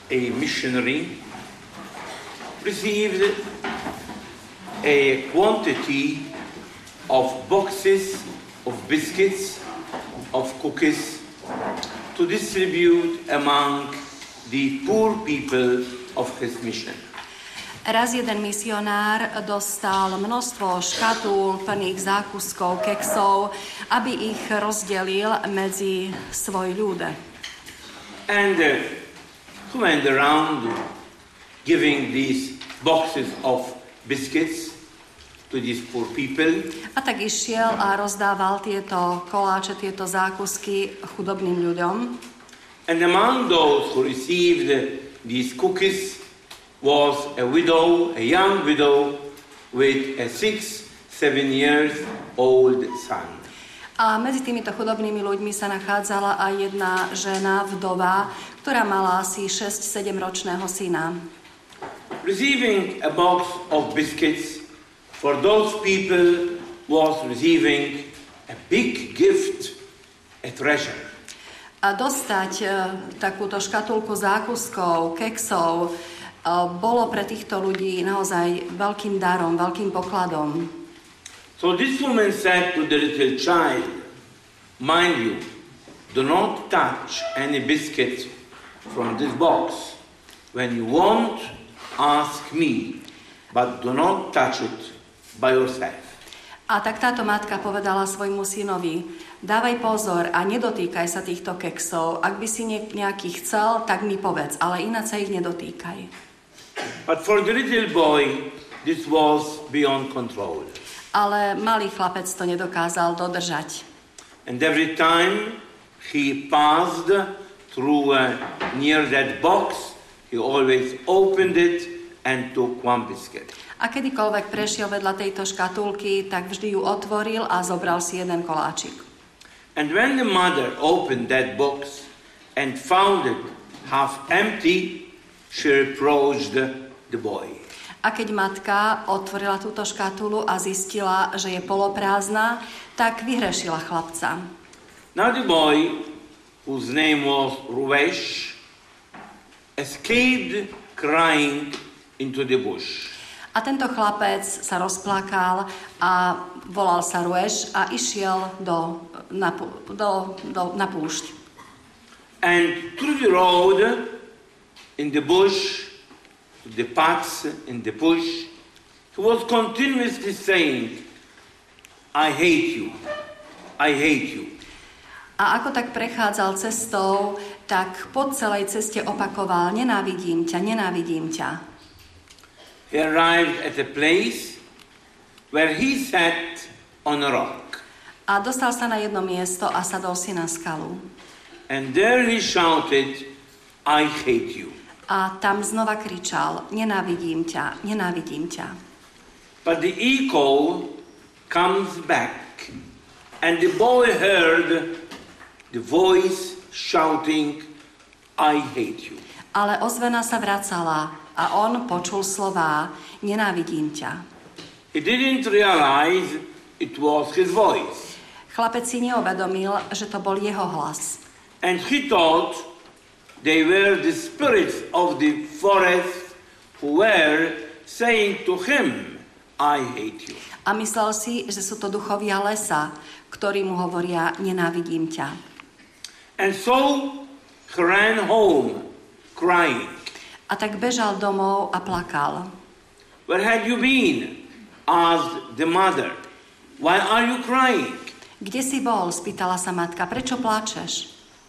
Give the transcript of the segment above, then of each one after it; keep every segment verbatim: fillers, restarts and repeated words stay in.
a missionary, received a quantity of boxes of biscuits, of cookies, to distribute among the poor people of his mission. Raz jeden misionár dostal množstvo škatúl plných zákuskov, keksov, aby ich rozdelil medzi svoj ľud. And uh, he went around giving these boxes of biscuits to these poor people. A tak išiel a rozdával tieto koláče, tieto zákusky chudobným ľuďom. And among those who received these cookies was a widow, a young widow with a six, seven years old son. A medzi týmito chudobnými ľuďmi sa nachádzala aj jedna žena, vdova, ktorá mala asi šesť sedem ročného syna. Receiving a box of biscuits for those people was receiving a big gift, a treasure. A dostať e, takúto škatulku zákuskov, keksov, e, bolo pre týchto ľudí naozaj veľkým darom, veľkým pokladom. So this woman said to the little child, mind you, do not touch any biscuit from this box. When you want, ask me, but do not touch it by yourself. A tak táto matka povedala svojmu synovi, dávaj pozor a nedotýkaj sa týchto keksov. Ak by si nejaký chcel, tak mi povedz, ale ináč sa ich nedotýkaj. But for the little boy, this was beyond control. Ale malý chlapec to nedokázal dodržať. And every time he passed through uh, near that box, he always opened it and took one biscuit. A kedykoľvek prešiel vedľa tejto škatulky, tak vždy ju otvoril a zobral si jeden koláčik. And when the mother opened that box and found it half empty, she reproached the boy. A keď matka otvorila túto škatulu a zistila, že je poloprázdna, tak vyhrešila chlapca. Now the boy, whose name was Ruvesh, escaped crying into the bush. A tento chlapec sa rozplakal a volal sa Rueš a išiel do, na, do, do, na púšť. And through the road, in the bush, the paths in the bush, he was continuously saying, I hate you, I hate you. A ako tak prechádzal cestou, tak po celej ceste opakoval, nenávidím ťa, nenávidím ťa. He arrived at a place where he sat on a rock. A dostal sa na jedno miesto a sadol si na skalu. And there he shouted, I hate you. A tam znova kričal, nenávidím ťa, nenávidím ťa. But the echo comes back, and the boy heard the voice shouting, I hate you. Ale ozvena sa vracala a on počul slová, nenávidím ťa. He didn't realize it was his voice. Chlapec si neuvedomil, že to bol jeho hlas. And he thought they were the spirits of the forest who were saying to him, I hate you. A myslel si, že sú to duchovia lesa, ktorí mu hovoria, nenávidím ťa. And so he ran home, crying. A tak bežal domov a plakal. Where had you been? Asked the mother. Why are you crying? Kde si bol? Spýtala sa matka. Prečo pláčeš?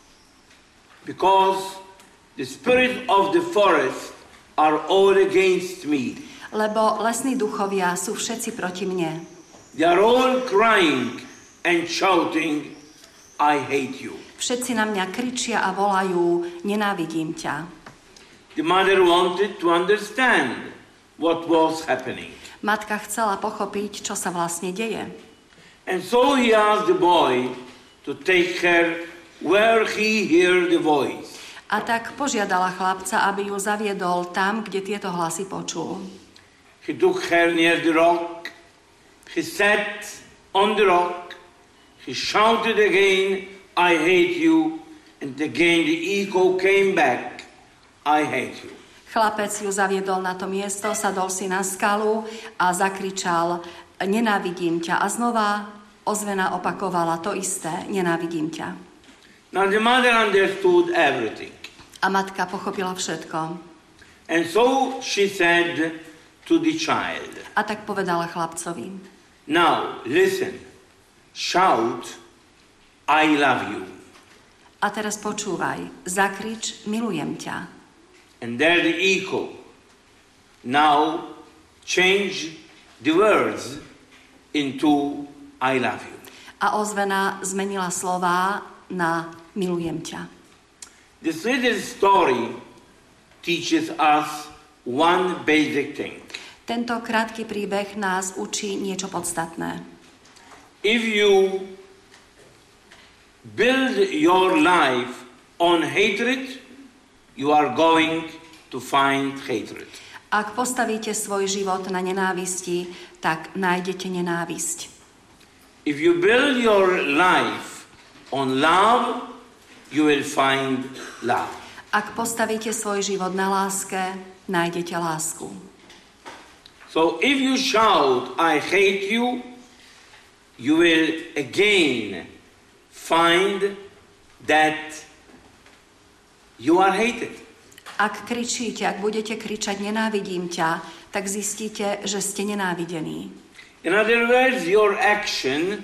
Because the spirits of the forest are all against me. Lebo lesní duchovia sú všetci proti mne. They are all crying and shouting, I hate you. Všetci na mňa kričia a volajú, nenávidím ťa. The mother wanted to understand what was happening. Matka chcela pochopiť, čo sa vlastne deje. And so he asked the boy to take her where he heard the voice. A tak požiadala chlapca, aby ju zaviedol tam, kde tieto hlasy počul. He took her near the rock. He sat on the rock. He shouted again, I hate you. And again the echo came back. I hate you. Chlapec ju zaviedol na to miesto, sadol si na skalu a zakričal, nenávidím ťa. A znova ozvena opakovala to isté, nenávidím ťa. Now the mother understood everything. A matka pochopila všetko. And so she said to the child, A tak povedala chlapcovi, now listen, shout, I love you. a teraz počúvaj, zakrič, milujem ťa. And there the echo. Now change the words into I love you. A ozvena zmenila slová na milujem ťa. This little story teaches us one basic thing. Tento krátky príbeh nás učí niečo podstatné. If you build your life on hatred, you are going to find hatred. Ak postavíte svoj život na nenávisti, tak nájdete nenávisť. If you build your life on love, you will find love. Ak postavíte svoj život na láske, nájdete lásku. So if you shout, I hate you, you will again find that you are hated. Ak kričíte, ak budete kričať nenávidím ťa, tak zistíte, že ste nenávidení. In other words, your action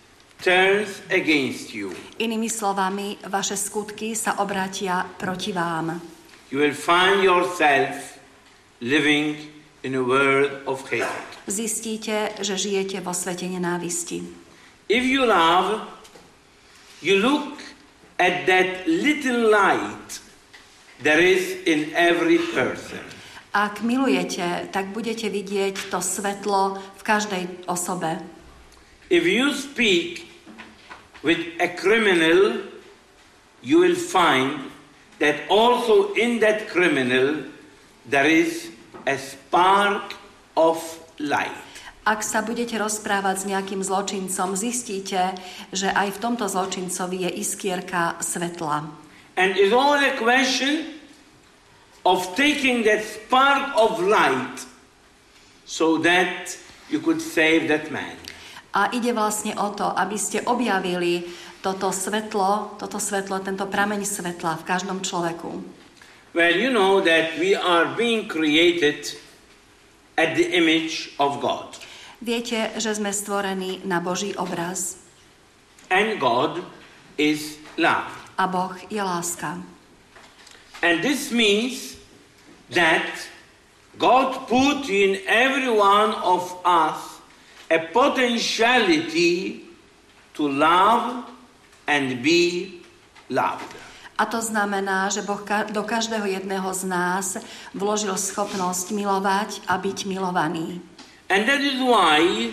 turns against you. Inými slovami, vaše skutky sa obrátia proti vám. You will find yourself living in a world of hatred. Zistíte, že žijete vo svete nenávisti. If you love, you look at that little light there is in every person. Ak milujete, tak budete vidieť to svetlo v každej osobe. If you speak with a criminal, you will find that also in that criminal there is a spark of light. Ak sa budete rozprávať s nejakým zločincom, zistíte, že aj v tomto zločincovi je iskierka svetla. And it's all a question of taking that spark of light so that you could save that man. A ide vlastne o to, aby ste objavili toto svetlo, toto svetlo, tento prameň svetla v každom človeku. Well, you know that we are being created at the image of God. Viete, že sme stvorení na Boží obraz. And God is love. A Boh je láska. And this means that God put in every one of us a potentiality to love and be loved. A to znamená, že Boh do každého jedného z nás vložil schopnosť milovať a byť milovaný. And that is why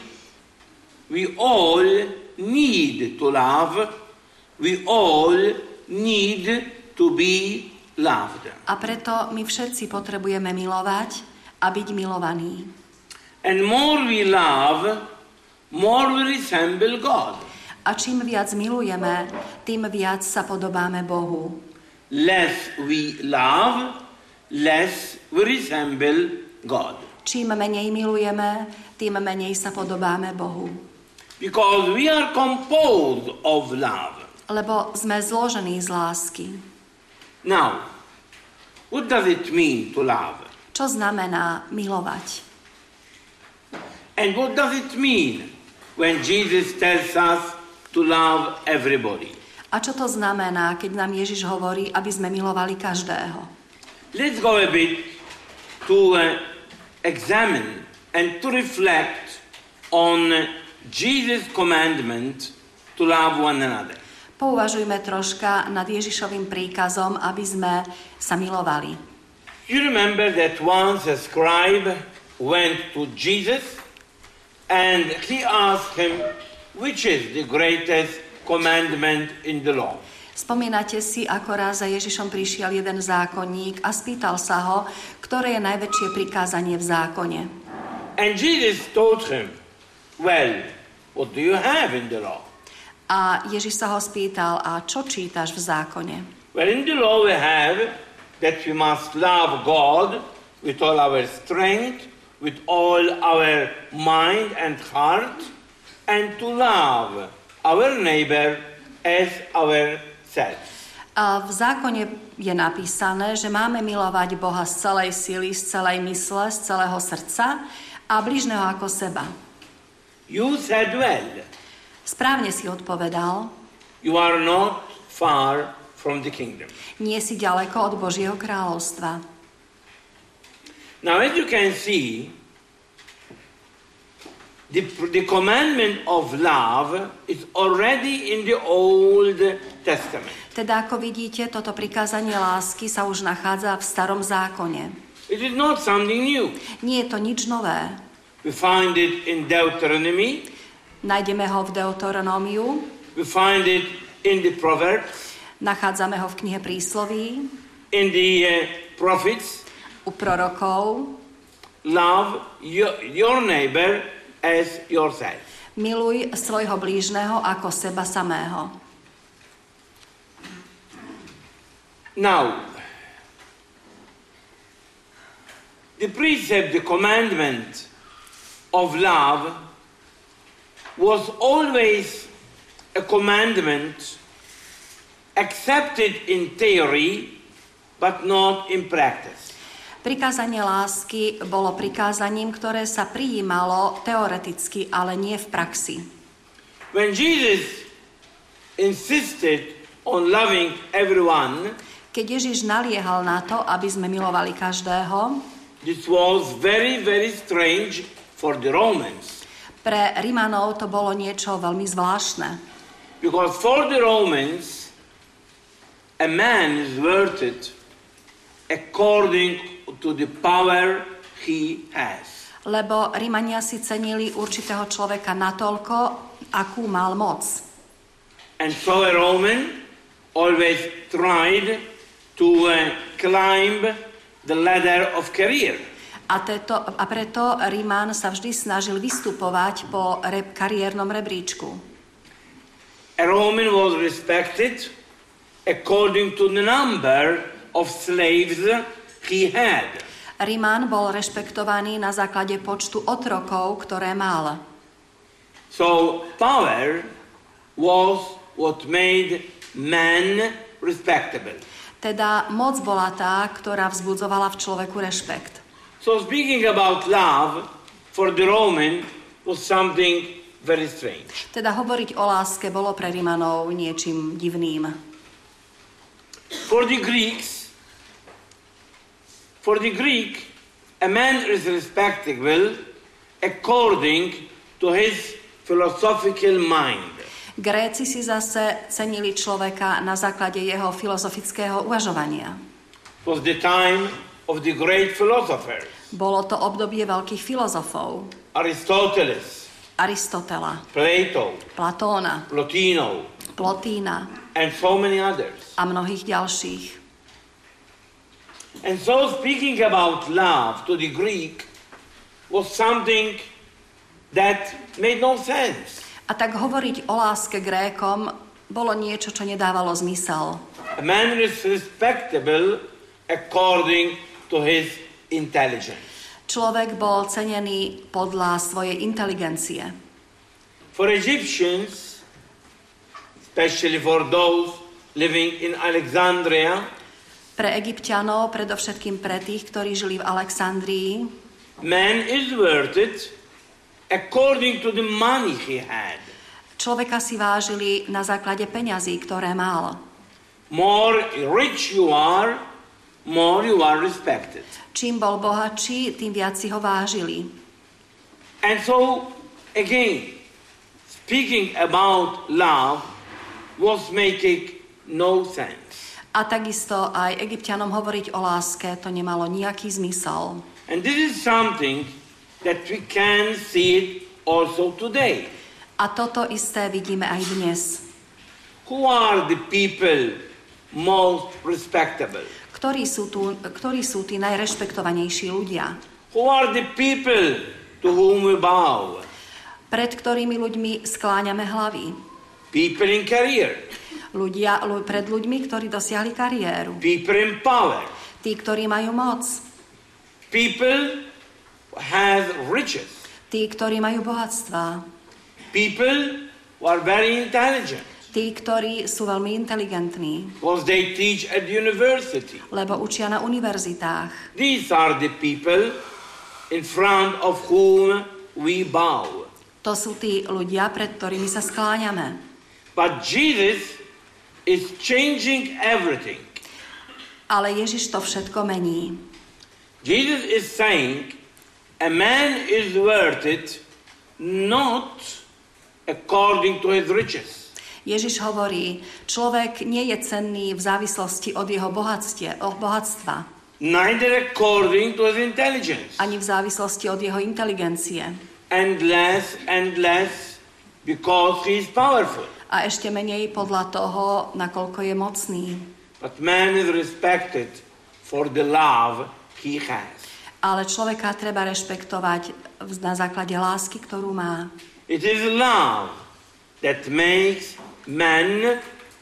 we all need to love, we all need to be loved. A preto my všetci potrebujeme milovať a byť milovaní. And more we love, more we resemble God. A čím viac milujeme, tým viac sa podobáme Bohu. Less we love, less we resemble God. Čím menej milujeme, tým menej sa podobáme Bohu. Because we are composed of love. Lebo sme zložení z lásky. Now, what does it mean to love? Čo znamená milovať? And what does it mean when Jesus tells us to love everybody? A čo to znamená, keď nám Ježiš hovorí, aby sme milovali každého? Let's go a bit to uh, examine and to reflect on Jesus' commandment to love one another. Pouvažujme troška nad Ježišovým príkazom, aby sme sa milovali. You remember that once a scribe went to Jesus and he asked him, which is the greatest commandment in the law? Spomínate si, ako raz za Ježišom prišiel jeden zákonník a spýtal sa ho, ktoré je najväčšie prikázanie v zákone. And Jesus told him, well, what do you have in the law? A Ježiš sa ho spýtal, a čo čítaš v zákone? Well, in the law we have that we must love God with all our strength, with all our mind and heart, and to love our neighbor as ourselves. A v zákone je napísané, že máme milovať Boha z celej sily, z celej mysle, z celého srdca a bližného ako seba. You said well. Správne si odpovedal. You are not far from the kingdom. Nie si ďaleko od Božieho kráľovstva. Now, as you can see, the, the commandment of love is already in the Old Testament. Teda, ako vidíte, toto prikázanie lásky sa už nachádza v Starom zákone. It is not something new. Nie je to nič nové. We find it in Deuteronomy. Nájdeme ho v Deuteronómiu. We find it in the Proverbs. Nachádzame ho v knihe Prísloví. In the uh, prophets. U prorokov. Love your, your neighbor as yourself. Miluj svojho blížneho ako seba samého. Now, the precept, the commandment of love was always a commandment accepted in theory, but not in practice. Prikázanie lásky bolo prikázaním, ktoré sa prijímalo teoreticky, ale nie v praxi. When Jesus insisted on loving everyone, keď Ježiš naliehal na to, aby sme milovali každého, this was very, very strange for the Romans. Pre Rimanov to bolo niečo veľmi zvláštne. Because for the Romans, a man is worth according to the power he has. Lebo Rimania si cenili určitého človeka natoľko, akú mal moc. And so a Roman always tried to uh, climb the ladder of career. A, teto, a preto Riman sa vždy snažil vystupovať po re, kariérnom rebríčku. A Roman was respected according to the number of slaves he had. Riman bol rešpektovaný na základe počtu otrokov, ktoré mal. So power was what made man respectable. Teda moc bola tá, ktorá vzbudzovala v človeku rešpekt. So speaking about love for the Roman was something very strange. Teda hovoriť o láske bolo pre Rimanov niečím divným. For the Greeks, for the Greek, a man is respectable according to his philosophical mind. Gréci si zase cenili človeka na základe jeho filozofického uvažovania. It was the time of the great philosophers. Bolo to obdobie veľkých filozofov. Aristoteles, Aristotela, Plato, Platóna, Plotino, Plotína and so many others. a mnohých ďalších. And so speaking about love to the Greek was something that made no sense. A tak hovoriť o láske Grékom bolo niečo, čo nedávalo zmysel. A man is respectable according to his intelligence. Človek bol cenený podľa svojej inteligencie. For Egyptians, especially for those living in Alexandria, Pre Egypťanov, predovšetkým pre tých, ktorí žili v Alexandrii, man is worth it according to the money he had. človeka si vážili na základe peňazí, ktoré mal. More rich you are, more you are respected. Čím bol bohatší, tým viac si ho vážili. And so, again, speaking about love was making no sense. A takisto aj Egypťanom hovoriť o láske, to nemalo nejaký zmysel. And this is something that we can see it also today. A toto isté vidíme aj dnes. Who are the people most respectable? Ktorí sú, tu, ktorí sú tí najrešpektovanejší ľudia? Who are the people to whom we bow? Pred ktorými ľuďmi skláňame hlavy? People in career. Ľudia, ľu, pred ľuďmi, ktorí dosiahli kariéru. People in power. Tí, ktorí majú moc. People have riches. Tí, ktorí majú bohatstva. People who are very intelligent. Tí, ktorí sú veľmi inteligentní. Because they teach at university. Lebo učia na univerzitách. These are the people in front of whom we bow. To sú tí ľudia, pred ktorými sa skláňame. But Jesus is changing everything. Ale Ježiš to všetko mení. Jesus is saying, a man is worth it not according to his riches. Ježiš hovorí, človek nie je cenný v závislosti od jeho bohatstie, od bohatstva. Neither according to his intelligence. Ani v závislosti od jeho inteligencie. And less and less because he is powerful. A ešte menej podľa toho, nakoľko je mocný. But man is respected for the love he has. Ale človeka treba rešpektovať na základe lásky, ktorú má. It is love that makes man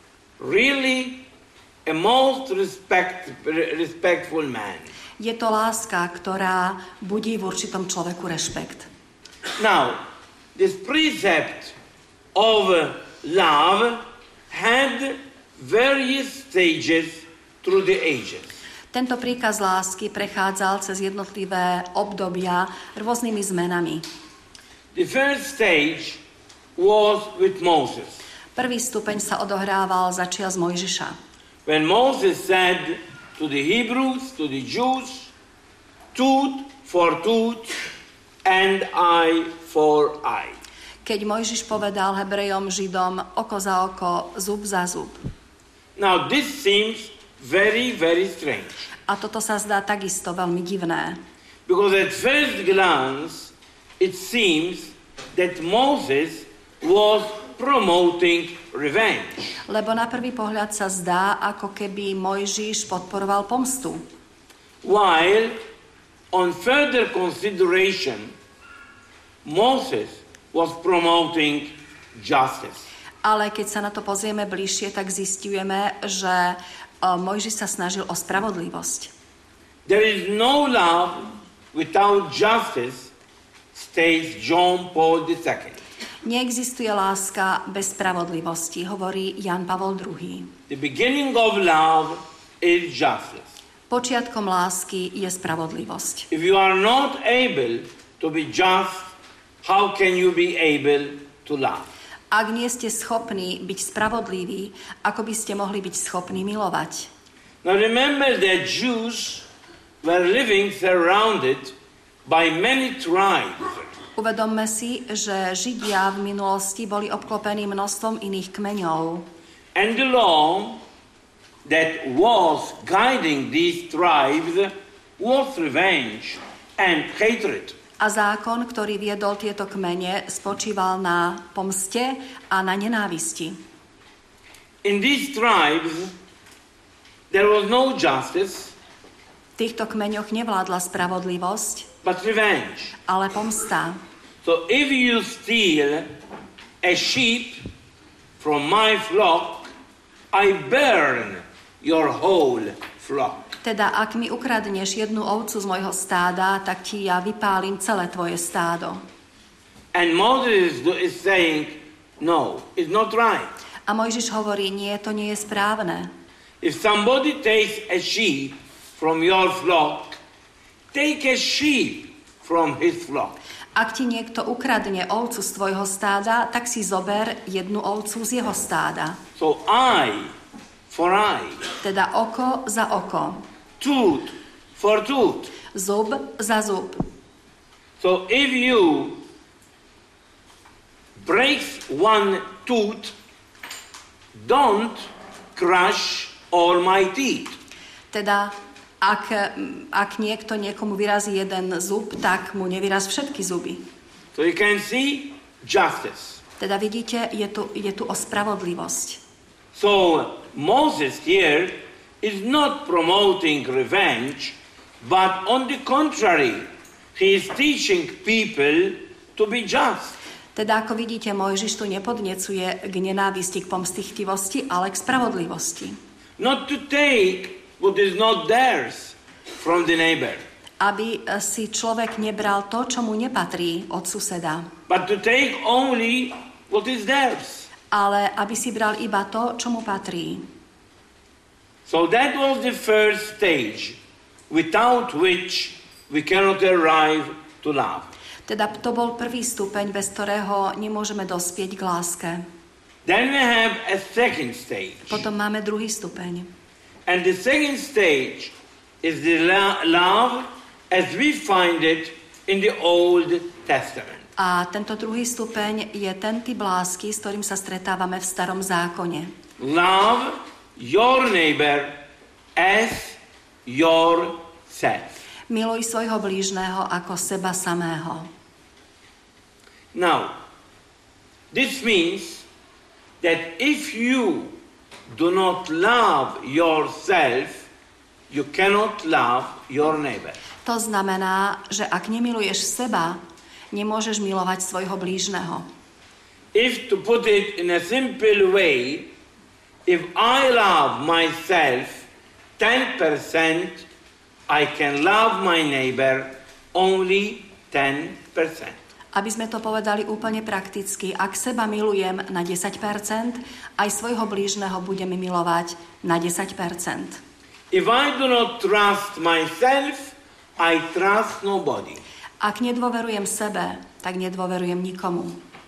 really a most respect, respectful man. Je to láska, ktorá budí v určitom človeku rešpekt. Now, this precept of love had various stages through the ages. Tento príkaz lásky prechádzal cez jednotlivé obdobia rôznymi zmenami. The first stage was with Moses. Prvý stupeň sa odohrával za čias Mojžiša. When Moses said to the Hebrews, to the Jews, tooth for tooth and eye for eye. Keď Mojžiš povedal Hebrejom, Židom, oko za oko, zub za zub. Now this seems very, very strange. A toto sa zdá takisto veľmi divné. Because at first glance, it seems that Moses was promoting revenge. Lebo na prvý pohľad sa zdá, ako keby Mojžiš podporoval pomstu. While on further consideration, Moses was promoting justice. Ale keď sa na to pozrieme bližšie, tak zistujeme, že Mojžiš sa snažil o spravodlivosť. There is no love without justice, states John Paul the Second. Neexistuje láska bez spravodlivosti, hovorí Jan Pavol druhý. The beginning of love is justice. Počiatkom lásky je spravodlivosť. If you are not able to be just, how can you be able to love? Ak nie ste schopní byť spravodliví, ako by ste mohli byť schopní milovať? Now remember that Jews were living surrounded by many tribes. Uvedomme si, že Židia v minulosti boli obklopení množstvom iných kmeňov. And the law that was guiding these tribes was revenge and hatred. A zákon, ktorý viedol tieto kmene, spočíval na pomste a na nenávisti. In these tribes there was no justice, V týchto kmeňoch nevládla spravodlivosť, but revenge. ale pomsta. So if you steal a sheep from my flock, I burn your whole flock. Teda, ak mi ukradneš jednu ovcu z mojho stáda, tak ti ja vypálim celé tvoje stádo. And Moses is saying, no, it's not right. A Mojžiš hovorí, nie, to nie je správne. If somebody takes a sheep from your flock, take a sheep from his flock. Ak ti niekto ukradne ovcu z tvojho stáda, tak si zober jednu ovcu z jeho stáda. So eye for eye. Teda oko za oko. Tooth for tooth. Zub za zub. So if you break one tooth, don't crush all my teeth. Teda ak, ak niekto niekomu vyrazí jeden zub, tak mu nevyraz všetky zuby. So you can see justice. Teda vidíte, je tu, je tu o spravodlivosť. So Moses here is not promoting revenge, but on the contrary, he is teaching people to be just. Teda ako vidíte, Mojžiš tu nepodnecuje k nenávisti, k pomstichtivosti, ale k spravodlivosti. Not to take what is not theirs from the neighbor. Aby si človek nebral to, čo mu nepatrí od suseda. But to take only what is theirs. Ale aby si bral iba to, čo mu patrí. So that was the first stage, without which we cannot arrive to love. Teda to bol prvý stupeň, bez ktorého nemôžeme dospieť k láske. Then we have a second stage. Potom máme druhý stupeň. And the second stage is the la- love as we find it in the Old Testament. A tento druhý stupeň je ten typ lásky, s ktorým sa stretávame v Starom zákone. Love your neighbor as yourself. Miluj svojho blížneho ako seba samého. Now, this means that if you do not love yourself, you cannot love your neighbor. To znamená, že ak nemiluješ seba, nemôžeš milovať svojho blížneho. If to put it in a simple way, if I love myself ten percent, I can love my neighbor only ten percent. Aby sme to povedali úplne prakticky, ak seba milujem na desať percent, aj svojho blížneho budem milovať na desať percent. If I do not trust myself, I trust nobody. Ak nedôverujem sebe, tak nedôverujem nikomu.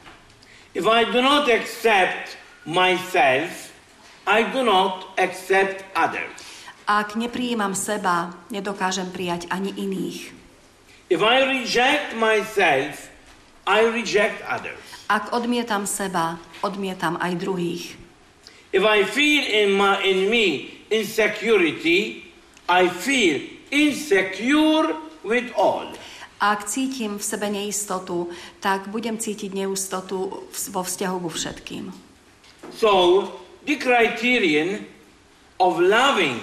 If I do not accept myself, I do not accept others. Ak neprijímam seba, nedokážem prijať ani iných. If I reject myself, I reject others. Ak odmietam seba, odmietam aj druhých. If I feel in, my, in me insecurity, I feel insecure with all. Ak cítim v sebe neistotu, tak budem cítiť neistotu vo vzťahu ku všetkým. So, the criterion of loving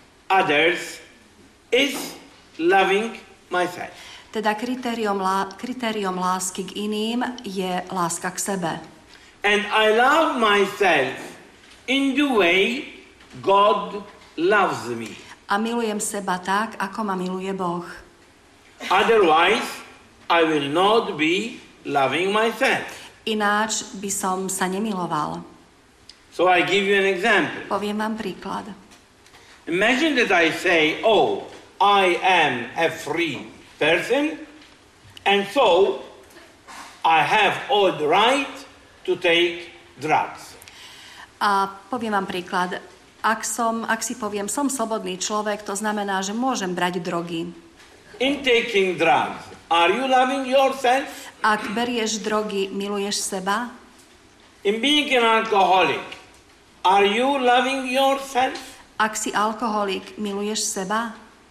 others is loving myself. Teda kritérium, lá, kritérium lásky k iným je láska k sebe. And I love myself in the way God loves me. A milujem seba tak, ako ma miluje Boh. Otherwise, I will not be loving myself. Ináč by som sa nemiloval. So I give you an example. Poviem vám príklad. Imagine that I say, oh, I am a free person, and so I have all the right to take drugs. A poviem vám príklad. Ak, som, ak si poviem, som slobodný človek, to znamená, že môžem brať drogy. In taking drugs, are you loving yourself? Ak berieš drogy, miluješ seba? In being an alcoholic, are you loving yourself? Ak si alkoholik, miluješ seba?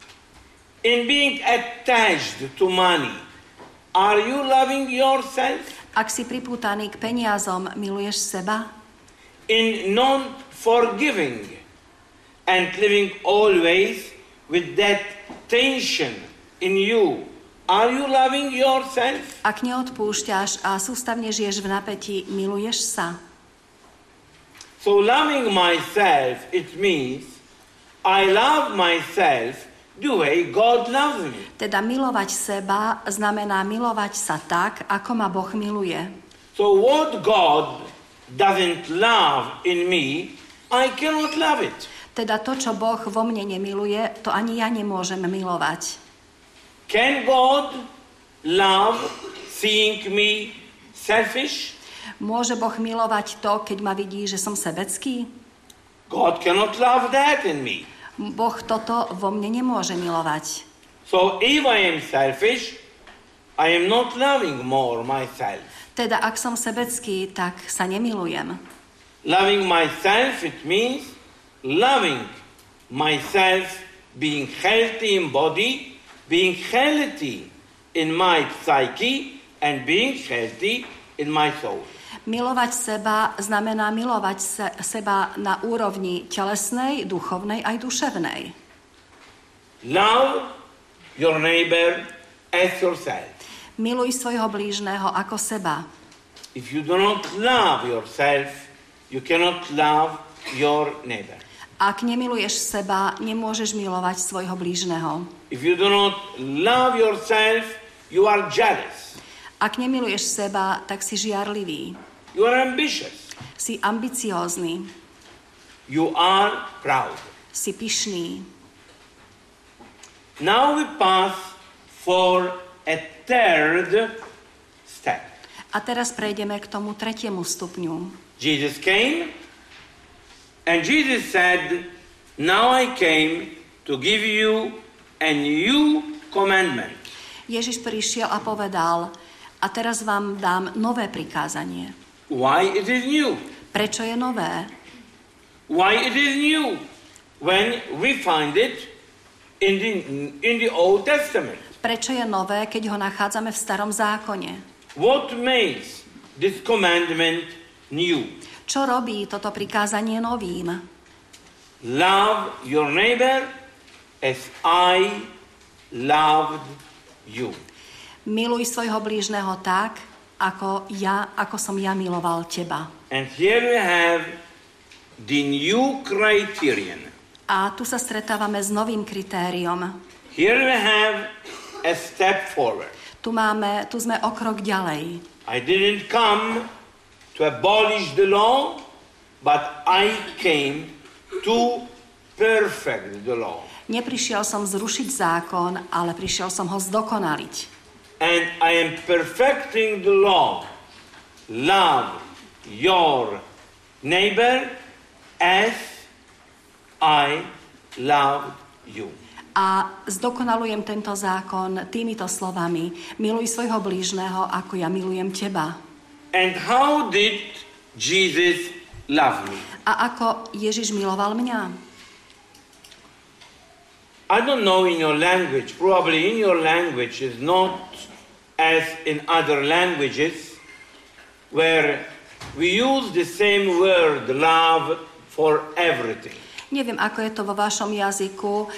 In being attached to money, are you loving yourself? Ak si pripútaný k peniazom, miluješ seba? In non-forgiving and living always with that tension in you, are you loving yourself? Ak neodpúšťaš a sústavne žiješ v napätí, miluješ sa? So loving myself, it means I love myself the way God loves me. Teda milovať seba znamená milovať sa tak, ako ma Boh miluje. So what God doesn't love in me, I cannot love it. Teda to, čo Boh vo mne nemiluje, to ani ja nemôžem milovať. Can God love seeing me selfish? Môže Boh milovať to, keď ma vidí, že som sebecký? God cannot love that in me. Boh toto vo mne nemôže milovať. So if I am selfish, I am not loving more myself. Teda ak som sebecký, tak sa nemilujem. Loving myself, it means loving myself, being healthy in body, being healthy in my psyche, and being healthy in my soul. Milovať seba znamená milovať se, seba na úrovni telesnej, duchovnej aj duševnej. Love your neighbor as yourself. Miluj svojho blížneho ako seba. If you do not love yourself, you cannot love your neighbor. Ak nemiluješ seba, nemôžeš milovať svojho blížneho. If you do not love yourself, you are jealous. Ak nemiluješ seba, tak si žiarlivý. You are ambitious. Si ambiciózny. You are proud. Si pyšný. Now we pass for a third step. A teraz prejdeme k tomu tretiemu stupňu. Jesus came, and Jesus said, now I came to give you a new commandment. Ježiš prišiel a povedal, a teraz vám dám nové prikázanie. Why it is new? Prečo je nové? Why it is new? When we find it in the, in the Old Testament. Prečo je nové, keď ho nachádzame v Starom zákone? What makes this commandment new? Čo robí toto prikázanie novým? Love your neighbor as I loved you. Miluj svojho blížneho tak, ako ja, ako som ja miloval teba. And here we have the new criterion. A tu sa stretávame s novým kritériom. Here we have a step forward. Tu máme, tu sme o krok ďalej. I didn't come to abolish the law, but I came to perfect the law. Neprišiel som zrušiť zákon, ale prišiel som ho zdokonaliť. And I am perfecting the law. Love your neighbor as I loved you. A zdokonalujem tento zákon týmito slovami. Miluj svojho blížneho, ako ja milujem teba. And how did Jesus love me? A ako Ježiš miloval mňa? I don't know in your language, probably in your language is not as in other languages where we use the same word love for everything. Neviem, ako je to vo vašom jazyku,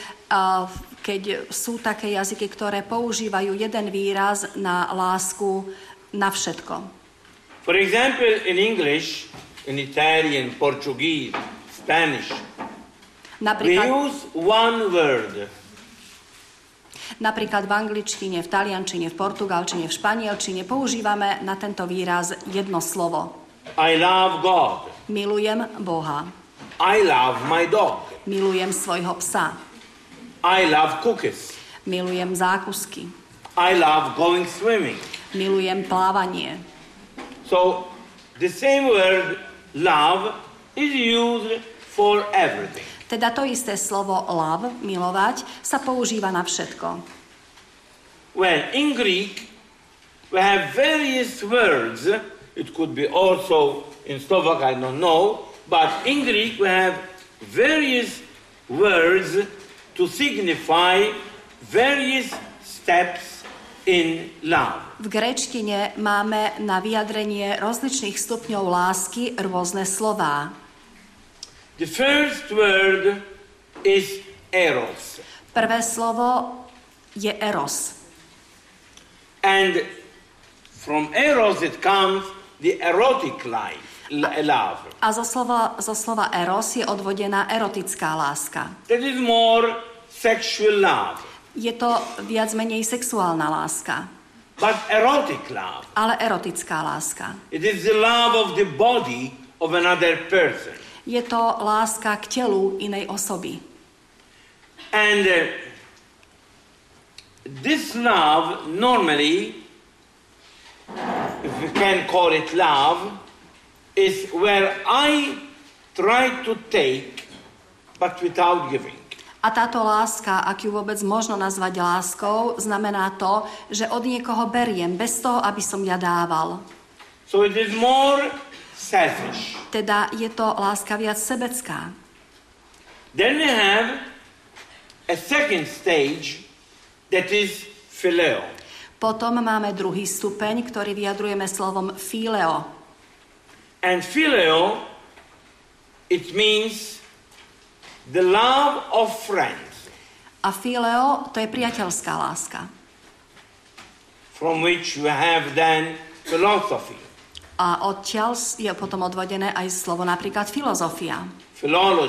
keď sú také jazyky, ktoré používajú jeden výraz na lásku na všetko. For example, in English, in Italian, Portuguese, Spanish, Napríklad, we use one word. napríklad v angličtine, v taliančine, v portugalčine, v španielčine používame na tento výraz jedno slovo. I love God. Milujem Boha. I love my dog. Milujem svojho psa. I love cookies. Milujem zákusky. I love going swimming. Milujem plávanie. So the same word love is used for everything. Teda to isté slovo love, milovať, sa používa na všetko. Well, in Greek, we have various words. It could be also in Slovak, I don't know. But in Greek, we have various words to signify various steps in love. V gréčtine máme na vyjadrenie rozličných stupňov lásky rôzne slová. The first word is eros. Prvé slovo je eros. And from eros it comes the erotic life, love. A zo slova, zo slova eros je odvodená erotická láska. That is more sexual love. Je to viac menej sexuálna láska. But erotic love. Ale erotická láska. It is the love of the body of another person. Je to láska k telu inej osoby. And uh, this love normally, if we can call it love, is where I try to take but without giving. A táto láska, ak ju vôbec možno nazvať láskou, znamená to, že od niekoho beriem, bez toho, aby som ja dával. So it is more selfish. Teda je to láska viac sebecká. Then we have a second stage that is phileo. Potom máme druhý stupeň, ktorý vyjadrujeme slovom phileo. And phileo, it means the love of friends. A phileo, to je priateľská láska. From which we have then philosophy. A odtiaľ je potom odvodené aj slovo napríklad filozofia. Philology.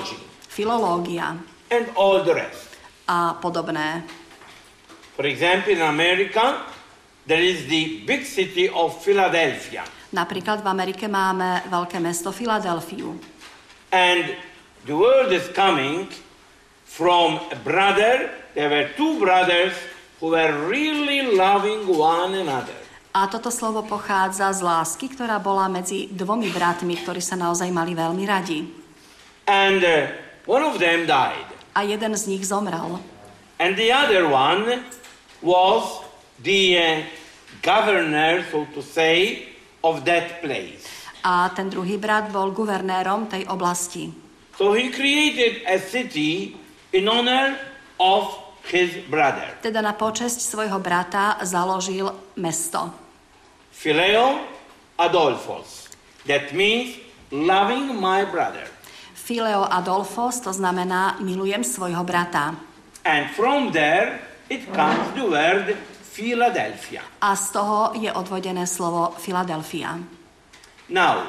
filológia and all the rest. a podobné. For example, in America, there is the big city of Philadelphia. Napríklad v Amerike máme veľké mesto Filadelfiu. And the word is coming from a brother. There were two brothers who were really loving one another. A toto slovo pochádza z lásky, ktorá bola medzi dvomi bratmi, ktorí sa naozaj mali veľmi radi. And uh, one of them died. A jeden z nich zomrel. And the other one was the uh, governor, so to say, of that place. A ten druhý brat bol guvernérom tej oblasti. So he created a city in honor of his brother. Teda na počesť svojho brata založil mesto. Phileo Adolphos. That means loving my brother. Phileo Adolphos, to znamená milujem svojho brata. And from there it comes the word Philadelphia. A z toho je odvodené slovo Filadelfia. Now,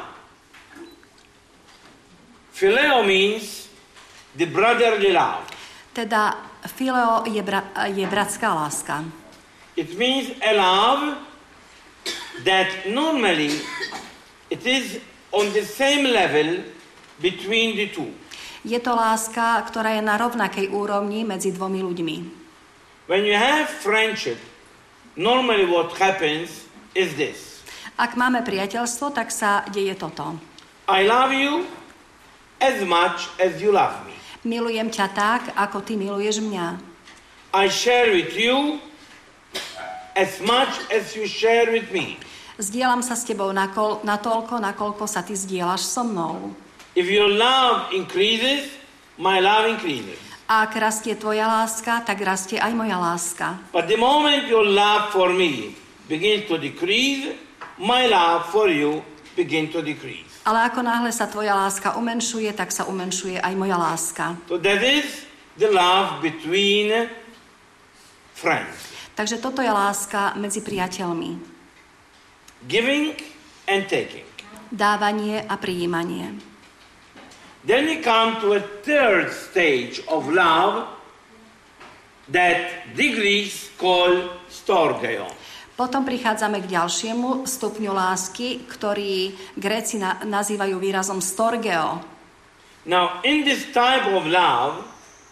Phileo means the brotherly love. Teda Phileo je, bra- je bratská láska. It means a love that normally it is on the same level between the two. Je to láska, ktorá je na rovnakej úrovni medzi dvomi ľuďmi. When you have friendship, normally what happens is this. Ak máme priateľstvo, tak sa deje toto. I love you as much as you love me. Milujem ťa tak, ako ty miluješ mňa. I share with you as much as you share with me. Zdieľam sa s tebou nakol- natoľko, nakoľko sa ty zdieľaš so mnou. If your love increases, my love increases. A ak rastie tvoja láska, tak rastie aj moja láska. But the moment your love for me begins to decrease, my love for you begins to decrease. Ale ako náhle sa tvoja láska umenšuje, tak sa umenšuje aj moja láska. So that is the love between friends. Takže toto je láska medzi priateľmi. Giving and taking. Dávanie a prijímanie. Then we come to a third stage of love that the Greeks call storgeo. Potom prichádzame k ďalšiemu stupňu lásky, ktorý Gréci na- nazývajú výrazom storgeo. Now, in this type of love,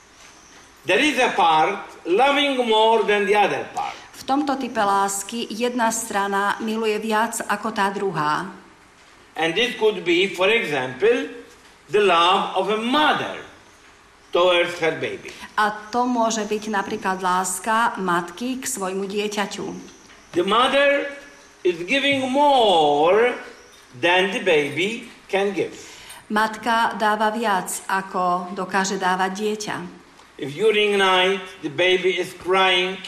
there is a part loving more than the other part. V tomto type lásky jedna strana miluje viac ako tá druhá. And this could be, for example, the love of a mother towards her baby. A to môže byť napríklad láska matky k svojmu dieťaťu. The mother is giving more than the baby can give. Matka dáva viac, ako dokáže dávať dieťa. If during night the baby is crying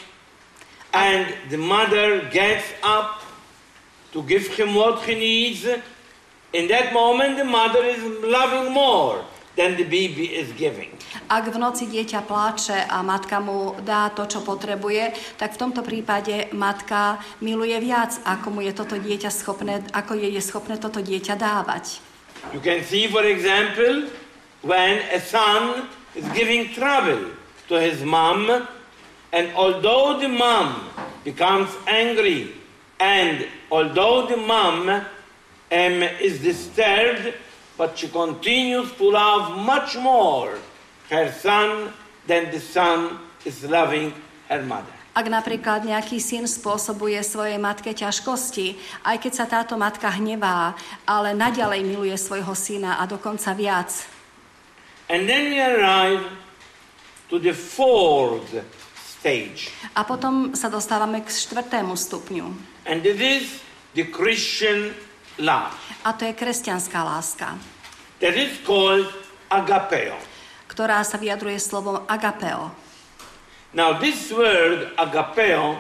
and the mother gets up to give him what he needs, in that moment the mother is loving more than the baby is giving. Ak v noci dieťa pláče a matka mu dá to, čo potrebuje, tak v tomto prípade matka miluje viac, ako mu je toto dieťa schopné, ako je, je schopné toto dieťa dávať. You can see, for example, when a son is giving trouble to his mom, and although the mom becomes angry, and although the mom um, is disturbed, but she continues to love much more her son than the son is loving her mother. Ak napríklad nejaký syn spôsobuje svojej matke ťažkosti, aj keď sa táto matka hnevá, ale naďalej miluje svojho syna a dokonca viac. And then we arrive to the fourth stage. A potom sa dostávame k štvrtému stupňu. And it is the Christian love. A to je kresťanská láska, That is called agapeo. ktorá sa vyjadruje slovom agapeo. Now this word agapeo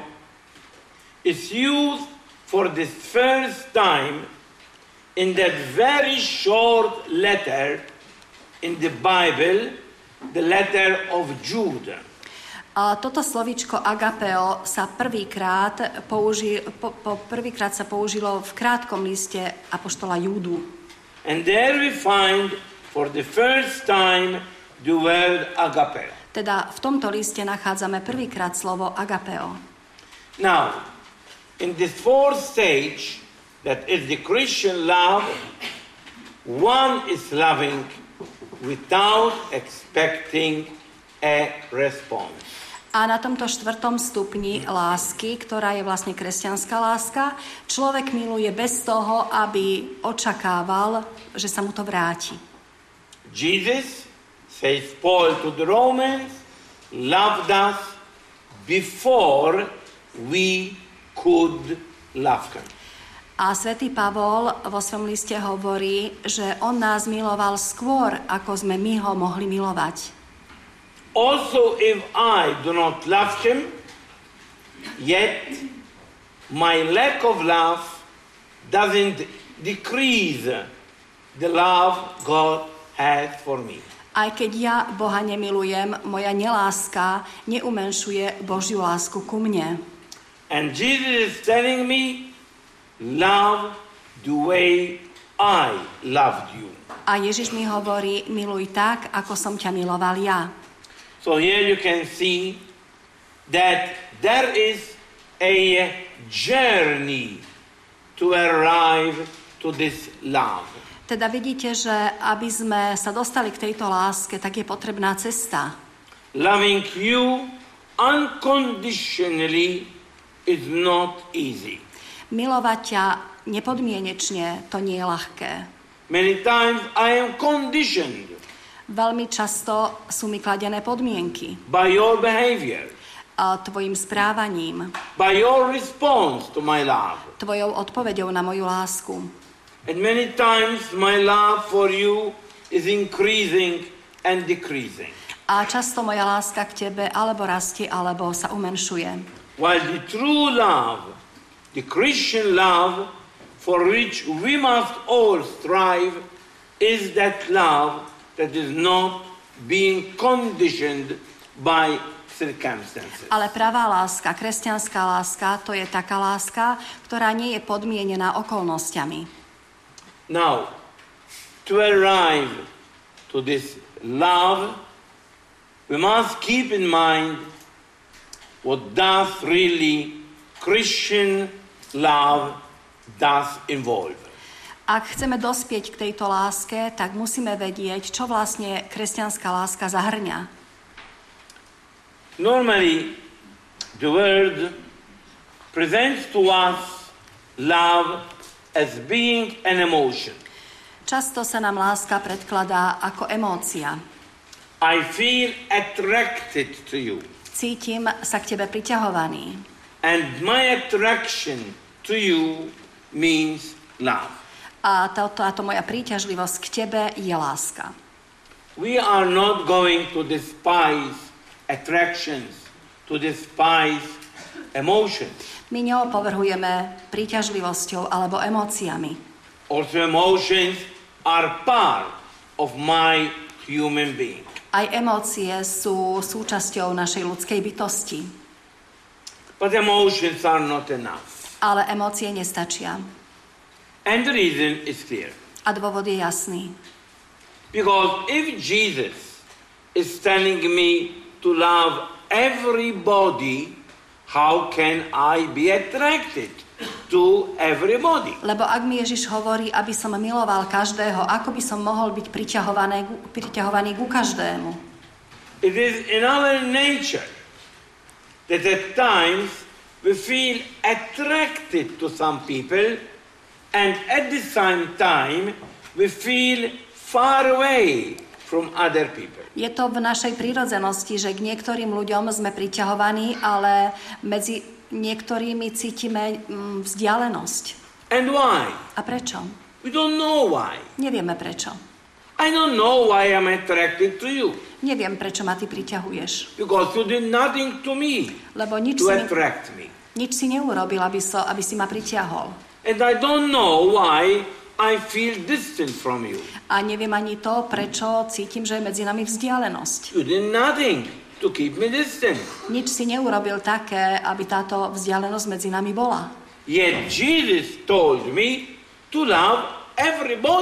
is used for the first time in that very short letter in the Bible, the letter of Jude. A toto slovíčko agapeo sa prvýkrát, použi, po, po, prvýkrát sa použilo v krátkom liste apoštola Júdu. And there we find for the first time the word agapeo. Teda v tomto liste nachádzame prvýkrát slovo agapeo. Now, in this fourth stage, that is the Christian love, one is loving without expecting a response. A na tomto štvrtom stupni lásky, ktorá je vlastne kresťanská láska, človek miluje bez toho, aby očakával, že sa mu to vráti. Jesus, says Paul to the Romans, loved us before we could love him. A svätý Pavol vo svojom liste hovorí, že on nás miloval skôr, ako sme my ho mohli milovať. Also, if I do not love him, yet my lack of love doesn't decrease the love God has for me. Aj keď ja Boha nemilujem, moja neláska neumenšuje Božiu lásku ku mne. And Jesus is telling me, love the way I loved you. A Ježiš mi hovorí, miluj tak, ako som ťa miloval ja. So here you can see that there is a journey to arrive to this love. Teda vidíte, že aby sme sa dostali k tejto láske, tak je potrebná cesta. Loving you unconditionally is not easy. Milovať ťa nepodmienečne, to nie je ľahké. Many times I am conditioned Veľmi často sú mi kladené podmienky. by your behavior, A tvojim správaním, by your response to my love. tvojou odpoveďou na moju lásku. And many times my love for you is increasing and decreasing. A často moja láska k tebe alebo rastie, alebo sa umenšuje. While the true love, the Christian love for which we must all strive, is that love that is not being conditioned by circumstances. Ale pravá láska, kresťanská láska, to je taká láska, ktorá nie je podmienená okolnostiami. Now, to arrive to this love, we must keep in mind what does really Christian love does involve. Ak chceme dospieť k tejto láske, tak musíme vedieť, čo vlastne kresťanská láska zahrňa. Normally, the word presents to us love as being an emotion. Často sa nám láska predkladá ako emócia. I feel attracted to you. Cítim sa k tebe priťahovaný. And my attraction to you means love. A táto, táto moja príťažlivosť k tebe je láska. We are not going to despise attractions, to despise emotions. My neopovrhujeme príťažlivosťou alebo emóciami. Also emotions are part of my human being. Aj emócie sú súčasťou našej ľudskej bytosti. But emotions are not enough. Ale emócie nestačia. And the reason is clear. A dôvod je jasný. Because if Jesus is telling me to love everybody, how can I be attracted to everybody? Lebo ak mi Ježiš hovorí, aby som miloval každého, ako by som mohol byť priťahovaný, priťahovaný ku každému? It is in our nature that at times we feel attracted to some people, and at the same time we feel far away from other people. Je to v našej prírodzenosti, že k niektorým ľuďom sme priťahovaní, ale medzi niektorými cítime mm, vzdialenosť. And why? A prečo? We don't know why. Nevieme prečo. I don't know why I'm attracted to you. Neviem, prečo ma ty priťahuješ. Because you did nothing to me Lebo nič to si, attract me. nič si neurobil, aby, so, aby si ma pritiahol. And I don't know why I feel distant from you. A neviem ani to, prečo cítim, že je medzi nami vzdialenosť. You did nothing to keep me distant. Nič si neurobil také, aby táto vzdialenosť medzi nami bola. Yet Jesus told me to love everybody.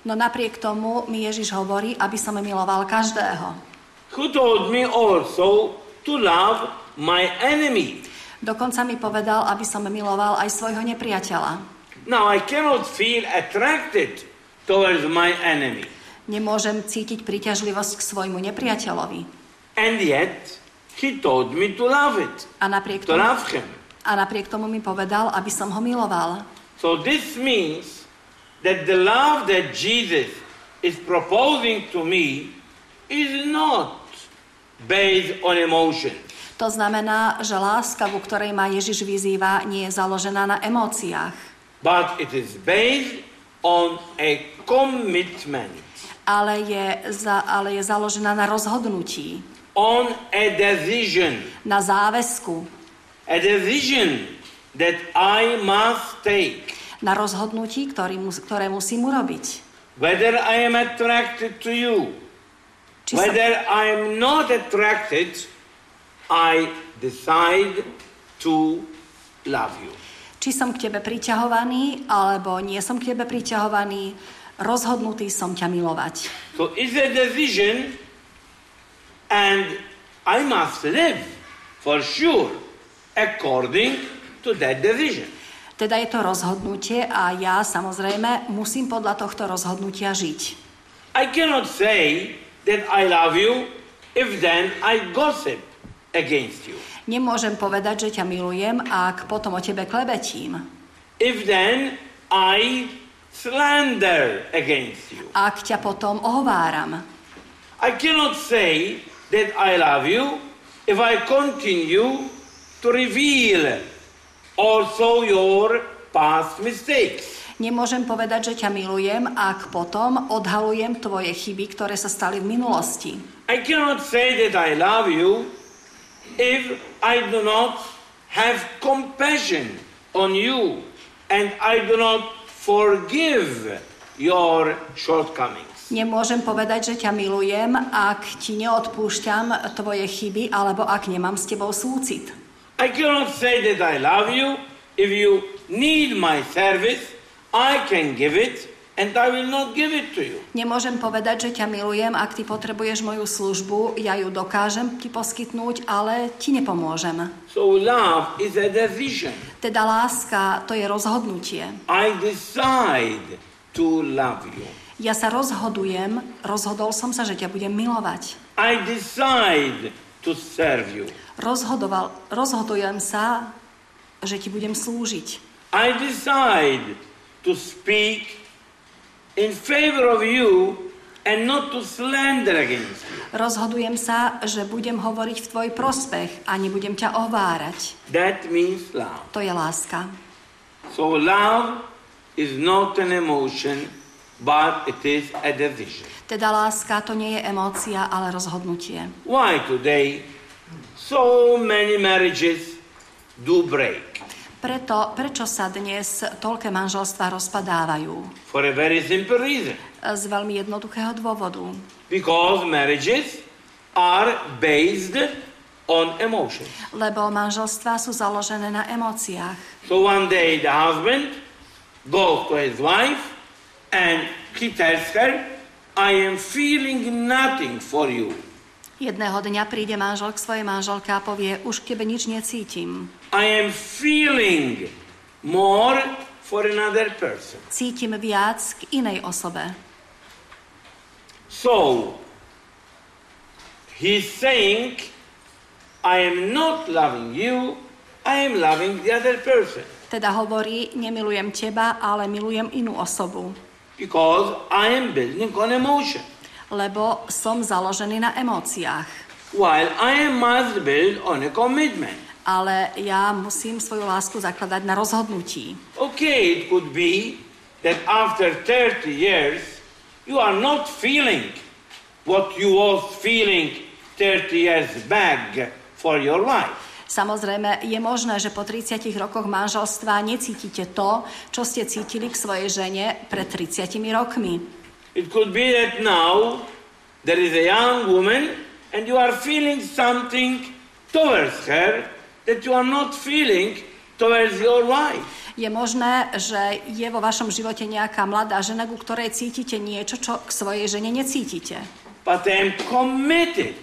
No napriek tomu mi Ježiš hovorí, aby som miloval každého. Who told me also to love my enemy. Dokonca mi povedal, aby som miloval aj svojho nepriateľa. Now I cannot feel attracted towards my enemy. Nemôžem cítiť príťažlivosť k svojmu nepriateľovi. And yet he told me to love it. A napriek To tomu, love him. a napriek tomu mi povedal, aby som ho miloval. So this means that the love that Jesus is proposing to me is not based on emotion. To znamená, že láska, ku ktorej ma Ježiš vyzýva, nie je založená na emóciách, But it is based on a commitment, ale je, za, ale je založená na rozhodnutí, on a decision, na záväzku, a decision that I must take. na rozhodnutí, ktorý, mus- ktoré musím urobiť. Whether I am attracted to you, Či som, whether I am not attracted, I decide to love you. či som k tebe priťahovaný, alebo nie som k tebe priťahovaný, rozhodnutý som ťa milovať. So it's a decision, and I must live for sure according to that decision. Teda je to rozhodnutie a ja samozrejme musím podľa tohto rozhodnutia žiť. I cannot say that I love you if then I gossip against you. Nemôžem povedať, že ťa milujem, ak potom o tebe klebetím. If then I slander against you. Ak ťa potom ohováram. I cannot say that I love you if I continue to reveal also your past mistakes. Nemôžem povedať, že ťa milujem, ak potom odhalujem tvoje chyby, ktoré sa stali v minulosti. I cannot say that I love you if I do not have compassion on you and I do not forgive your shortcomings. Nemôžem povedať, že ťa milujem, ak ti neodpúšťam tvoje chyby, alebo ak nemám s tebou súcit. I cannot say that I love you if you need my service, I can give it and I will not give it to you. Nemôžem povedať, že ťa milujem, ak ty potrebuješ moju službu, ja ju dokážem ti poskytnúť, ale ti nepomôžem. So love is a decision. Teda láska, to je rozhodnutie. I decide to love you. Ja sa rozhodujem, rozhodol som sa, že ťa budem milovať. I decide to serve you. Rozhodoval, rozhodujem sa, že ti budem slúžiť. I decide to speak in favor of you and not to slander against you. Rozhodujem sa, že budem hovoriť v tvoj prospech a nebudem ťa ovárať. That means love. To je láska. So love is not an emotion, but it is a decision. Teda láska to nie je emócia, ale rozhodnutie. Why today so many marriages do break? Preto, prečo sa dnes toľké manželstvá rozpadávajú? For a very simple reason. Z veľmi jednoduchého dôvodu. Because marriages are based on emotion. Lebo manželstvá sú založené na emóciách. So one day the husband goes to his wife and he tells her, I am feeling nothing for you. Jedného dňa príde manžel k svojej manželke a povie, už k tebe nič necítim. I am feeling more for another person. Cítim viac k inej osobe. So, he's saying, I am not loving you, I am loving the other person. Teda hovorí, nemilujem teba, ale milujem inú osobu. Because I am building on emotion. Lebo som založený na emóciách. While I must build on a commitment. Ale ja musím svoju lásku zakladať na rozhodnutí. Okay, it could be that after thirty years you are not feeling what you was feeling thirty years back for your wife. Samozrejme, je možné, že po tridsiatich rokoch manželstva necítite to, čo ste cítili k svojej žene pred tridsiatimi rokmi. It could be that now there is a young woman and you are feeling something towards her that you are not feeling towards your wife. Je možné, že je vo vašom živote nejaká mladá žena, ku ktorej cítite niečo, čo k svojej žene necítite. But I am committed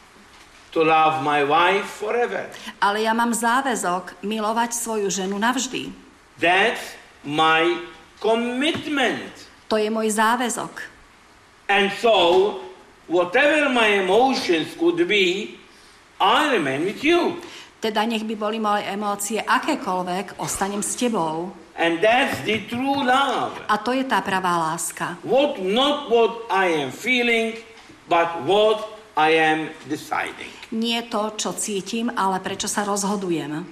to love my wife forever. Ale ja mám záväzok milovať svoju ženu navždy. That's my commitment. To je môj záväzok. And so, whatever my emotions could be, I remain with you. Teda nech by boli moje emócie akékoľvek, ostanem s tebou. And that's the true love. A to je tá pravá láska. What, not what I am feeling, but what I am deciding. Nie to, čo cítim, ale prečo sa rozhodujem.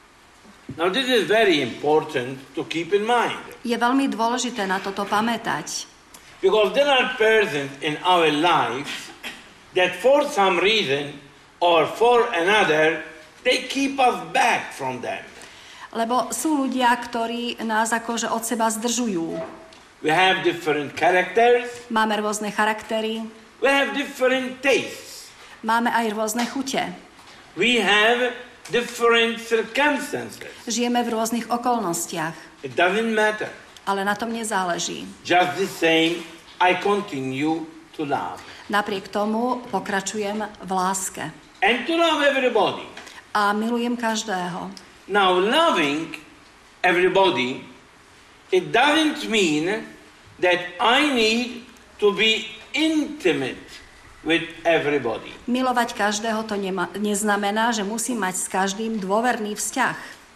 Now this is very important to keep in mind. Je veľmi dôležité na toto pamätať. Because there are persons in our lives that for some reason or for another, they keep us back from them. Lebo sú ľudia, ktorí nás akože od seba zdržujú. We have different characters. Máme rôzne charaktery. We have different tastes. Máme aj rôzne chute. We have different circumstances. Žijeme v rôznych okolnostiach. It doesn't matter. Ale na tom nezáleží. Just the same, I continue to love. Napriek tomu pokračujem v láske. And to love everybody. A milujem každého. Now, loving everybody, it doesn't mean that I need to be intimate with everybody. Milovať každého to nema, neznamená, že musím mať s každým dôverný vzťah.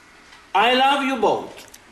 I love you both.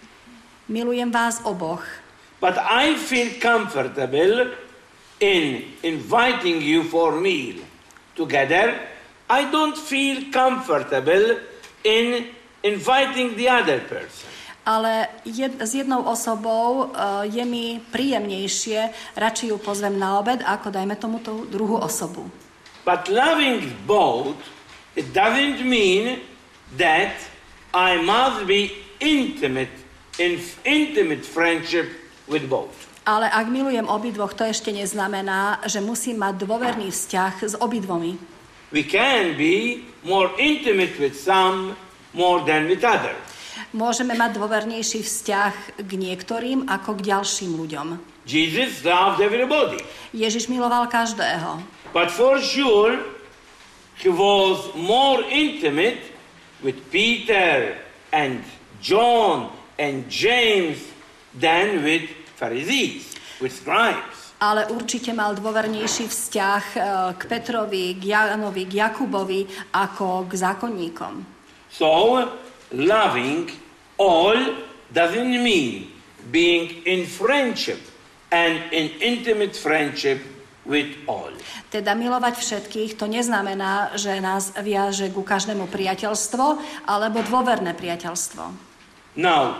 Milujem vás oboch. But I feel comfortable in inviting you for meal together. I don't feel comfortable in inviting the other person. Ale jed, s jednou osobou uh, je mi príjemnejšie, radšej ju pozvem na obed, ako dajme tomu tú druhú osobu. But loving both, it doesn't mean that I must be intimate, in intimate friendship with both. Ale ak milujem obidvoch, to ešte neznamená, že musím mať dôverný vzťah s obidvomi. We can be more intimate with some more than with others. Môžeme mať dôvernejší vzťah k niektorým ako k ďalším ľuďom. Jesus loved everybody. Ježiš miloval každého. But for sure, he was more intimate with Peter and John and James than with Pharisees, with scribes. Ale určite mal dôvernejší vzťah k Petrovi, k Jánovi, k Jakubovi ako k zákonníkom. So, loving all doesn't mean being in friendship and in intimate friendship with all. Teda milovať všetkých, to neznamená, že nás viaže ku každému priateľstvo alebo dôverné priateľstvo. Now,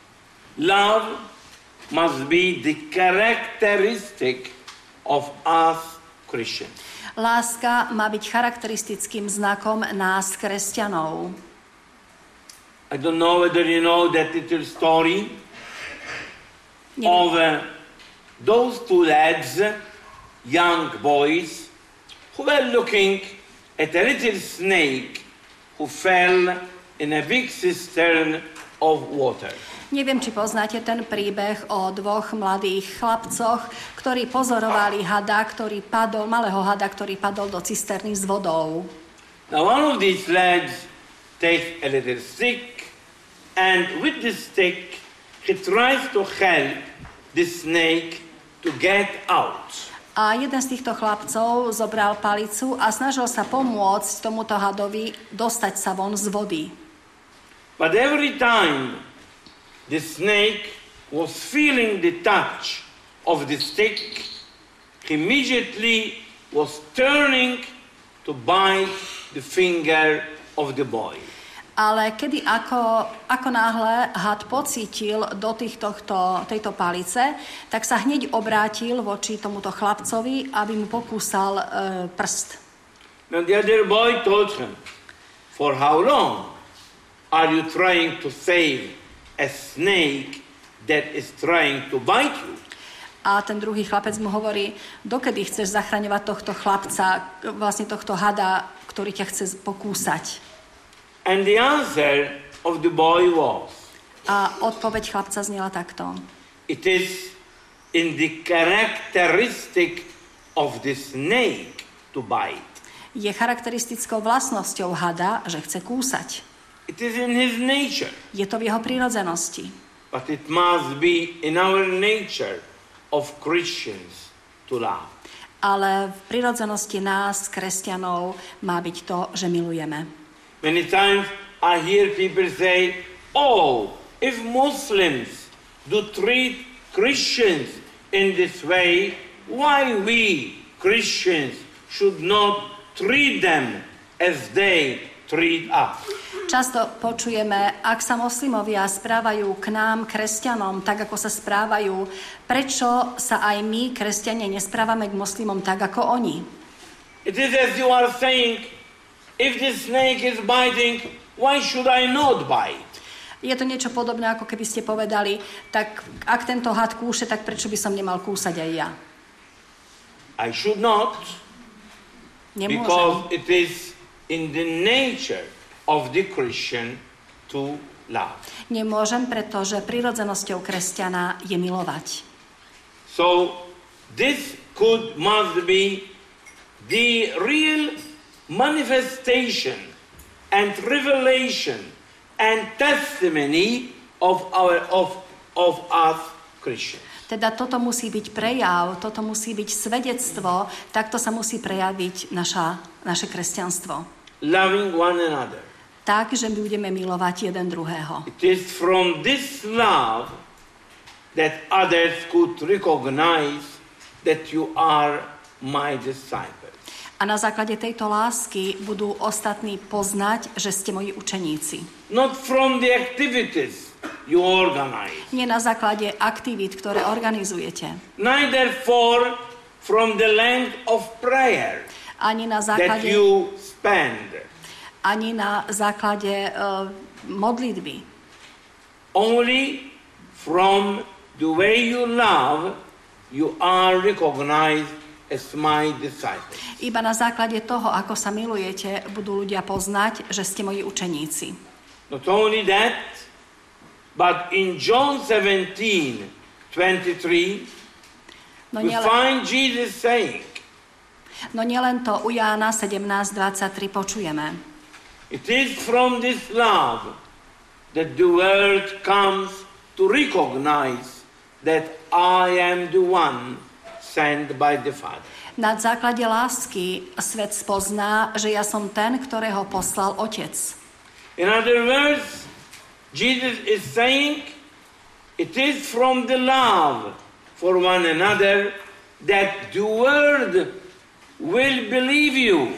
love must be the characteristic of us Christians. Láska má byť charakteristickým znakom nás, kresťanov. I don't know whether you know that little story of uh, those two lads, young boys, who were looking at a little snake who fell in a big cistern of water. Neviem, či poznáte ten príbeh o dvoch mladých chlapcoch, ktorí pozorovali hada, ktorý padol, malého hada, ktorý padol do cisterny s vodou. Now one of these lads takes a little stick, and with the stick he tries to help the snake to get out. A jeden z týchto chlapcov zobral palicu a snažil sa pomôcť tomuto hadovi dostať sa von z vody. But every time the snake was feeling the touch of the stick, he immediately was turning to bite the finger of the boy. Ale kedy ako, ako náhle had pocítil dotyk tohto, tejto palice, tak sa hneď obrátil voči tomuto chlapcovi, aby mu pokúsal e, prst. Now the other boy told him, "For how long are you trying to save a snake that is trying to bite you?" A ten druhý chlapec mu hovorí, dokedy chceš zachraňovať tohto chlapca, vlastne tohto hada, ktorý ťa chce pokúsať. And the answer of the boy was, A odpoveď chlapca znela takto. It is in the characteristic of the snake to bite. Je charakteristickou vlastnosťou hada, že chce kúsať. It is in his nature. Je to v jeho prírodzenosti. But it must be in our nature of Christians to love. Ale v prírodzenosti nás, kresťanov, má byť to, že milujeme. Many times I hear people say, oh, if Muslims do treat Christians in this way, why we Christians should not treat them as they treat us? Často počujeme, ak sa moslimovia správajú k nám, kresťanom, tak ako sa správajú, prečo sa aj my, kresťania, nesprávame k moslimom tak ako oni? It is as you are saying, if the snake is biting, why should I not bite? Je to niečo podobné, ako keby ste povedali, tak ak tento had kúše, tak prečo by som nemal kúsať aj ja? I should not, Nemôžem. because it is in the nature of the Christian to love. Nemôžem, pretože prirodzenosťou kresťana je milovať. So this could must be the real manifestation and revelation and testimony of our of of us Christians. Teda toto musí byť prejav, toto musí byť svedectvo, takto sa musí prejaviť naša, naše kresťanstvo. Loving one another. Tak, že budeme milovať jeden druhého. It is from this love that others could recognize that you are my disciples. A na základe tejto lásky budú ostatní poznať, že ste moji učeníci. Not from the activities you organize. Nie na základe aktivít, ktoré organizujete. Neither for from the length of prayer Ani na that základe, you spend. ani na základe uh, modlitby. Only from the way you love, you are recognized as my disciples. Iba na základe toho, ako sa milujete, budú ľudia poznať, že ste moji učeníci. Not only that, but in John seventeen twenty-three, No we nielen, find Jesus saying, no nielen to, u Jána sedemnásť dvadsaťtri počujeme. it is from this love that the world comes to recognize that I am the one sent by the Father. Na základe lásky svet spozná, že ja som ten, ktorého poslal Otec. In other words, Jesus is saying, it is from the love for one another that the world will believe you.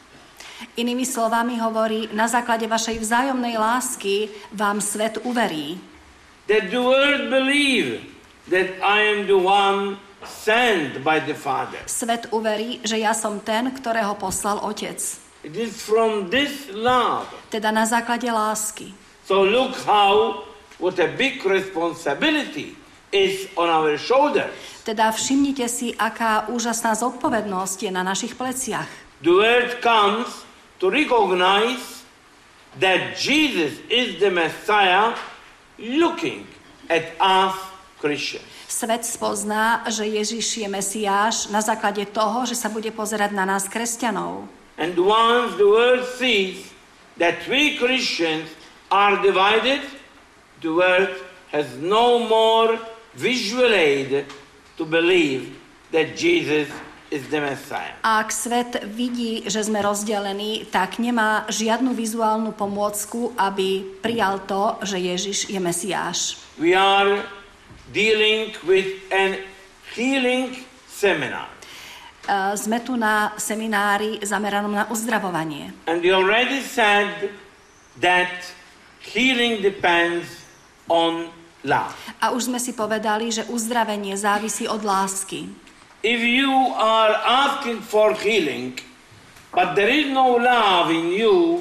Inými slovami hovorí, na základe vašej vzájomnej lásky vám svet uverí. That the world believe that I am the one sent by the Father. Svet uverí, že ja som ten, ktorého poslal Otec. It is from this love. Teda na základe lásky. So look how, what a big responsibility is on our shoulders. Teda všimnite si, aká úžasná zodpovednosť je na našich pleciach. The word comes to recognize that Jesus is the Messiah looking at us Christians. Svet spozná, že Ježiš je Mesiáš na základe toho, že sa bude pozerať na nás, kresťanov. And once the world sees that we Christians are divided, the world has no more visual aid to believe that Jesus is the Messiah. A ak svet vidí, že sme rozdelení, tak nemá žiadnu vizuálnu pomôcku, aby prijal to, že Ježiš je Mesiáš. We are dealing with an healing seminar. Uh, sme tu na seminári zameranom na uzdravovanie. And we already said that healing depends on love. A už sme si povedali, že uzdravenie závisí od lásky. If you are asking for healing, but there is no love in you,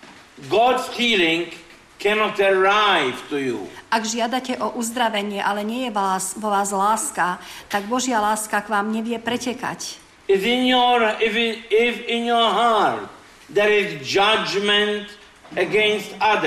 God's healing cannot arrive to you. Ak žiadate o uzdravenie, ale nie je vás, vo vás láska, tak Božia láska k vám nevie pretekať. If in your, if in, if in your heart there is judgment against others,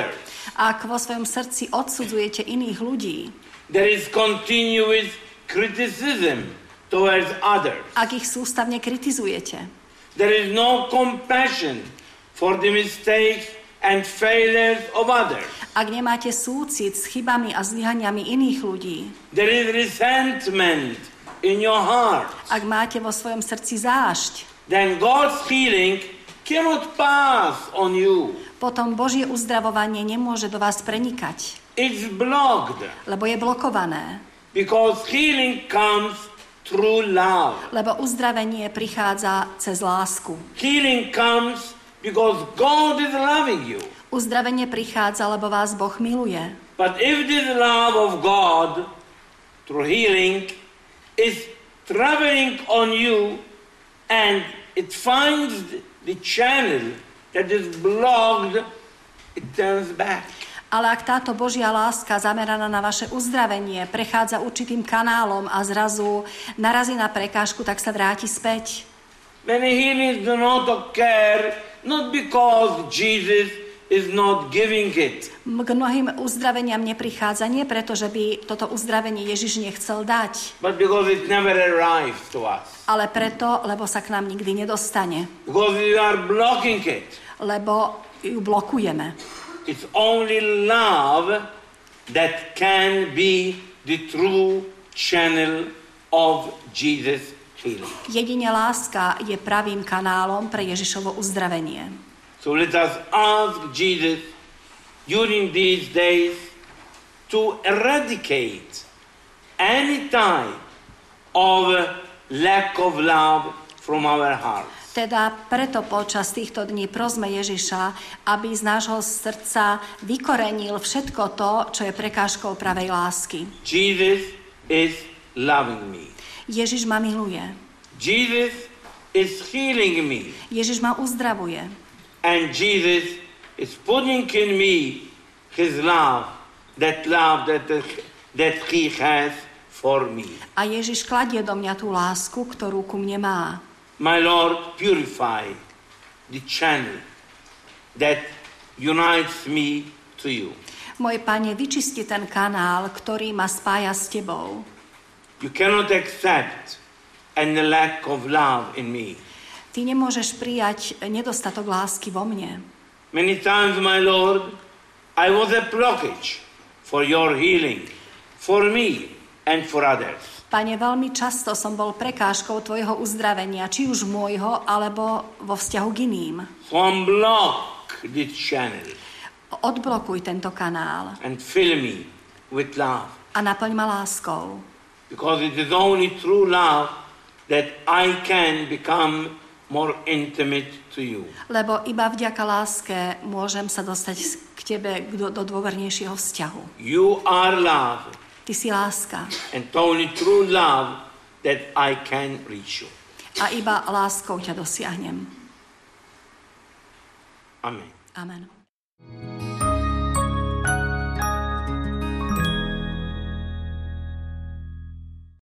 Ak vo svojom srdci odsudzujete iných ľudí, there is continuous criticism towards others. ak ich sústavne kritizujete, There is no compassion for the mistakes and failures of others. ak nemáte súcit s chybami a zlyhaniami iných ľudí, There is resentment in your heart. ak máte vo svojom srdci zášť, Then God's healing cannot pass on you. potom Božie uzdravovanie nemôže do vás prenikať, It's blocked lebo je blokované. because healing comes through love. Lebo uzdravenie prichádza cez lásku. Healing comes because God is loving you. Uzdravenie prichádza, lebo vás Boh miluje. But if this love of God through healing is traveling on you and it finds the channel that is blocked, it turns back. Ale ak táto Božia láska zameraná na vaše uzdravenie prechádza určitým kanálom a zrazu narazí na prekážku, tak sa vráti späť. Many healings do not occur not because Jesus is not giving it. K mnohým uzdraveniam neprichádza nie preto, že by toto uzdravenie Ježiš nechcel dať, But because it never arrives to us. ale preto, lebo sa k nám nikdy nedostane. Because we are blocking it. Lebo ju blokujeme. It's only love that can be the true channel of Jesus' healing. Jedine láska je pravým kanálom pre Ježišovo uzdravenie. So let us ask Jesus during these days to eradicate any type of lack of love from our hearts. Teda preto počas týchto dní prosme Ježiša, aby z nášho srdca vykorenil všetko to, čo je prekážkou pravej lásky. Jesus is loving me. Ježiš ma miluje. Jesus is healing me. Ježiš ma uzdravuje. And Jesus is putting in me his love, that love that, that he has for me. A Ježiš kladie do mňa tú lásku, ktorú ku mne má. My Lord, purify the channel that unites me to you. Môj Pane, vyčisti ten kanál, ktorý ma spája s Tebou. You cannot accept any lack of love in me. Ty nemôžeš prijať nedostatok lásky vo mne. Many times, my Lord, I was a blockage for your healing, for me and for others. Pane, veľmi často som bol prekážkou Tvojho uzdravenia, či už môjho, alebo vo vzťahu k iným. So unblock this channel Odblokuj tento kanál and fill me with love. a naplň ma láskou. Because it is only through love that I can become more intimate to you. Lebo iba vďaka láske môžem sa dostať k Tebe do, do dôvernejšieho vzťahu. You are love. Ty si láska. And only through love that I can reach you. A iba láskou ťa dosiahnem. Amen. Amen.